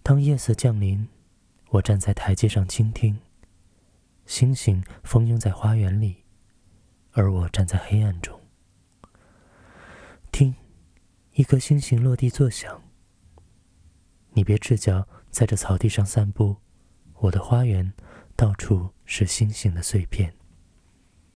当夜色降临，我站在台阶上倾听，星星蜂拥在花园里，而我站在黑暗中。听，一颗星星落地作响。你别赤脚在这草地上散步，我的花园到处是星星的碎片。